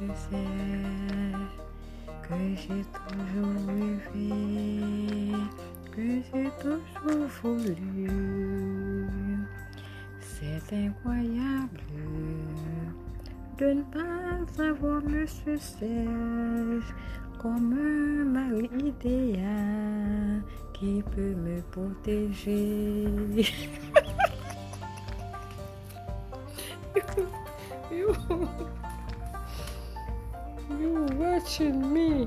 sais que j'ai toujours rêvé, que j'ai toujours voulu. C'est incroyable de ne pas avoir Monsieur Serge comme un mari idéal qui peut me protéger. you, you watching me?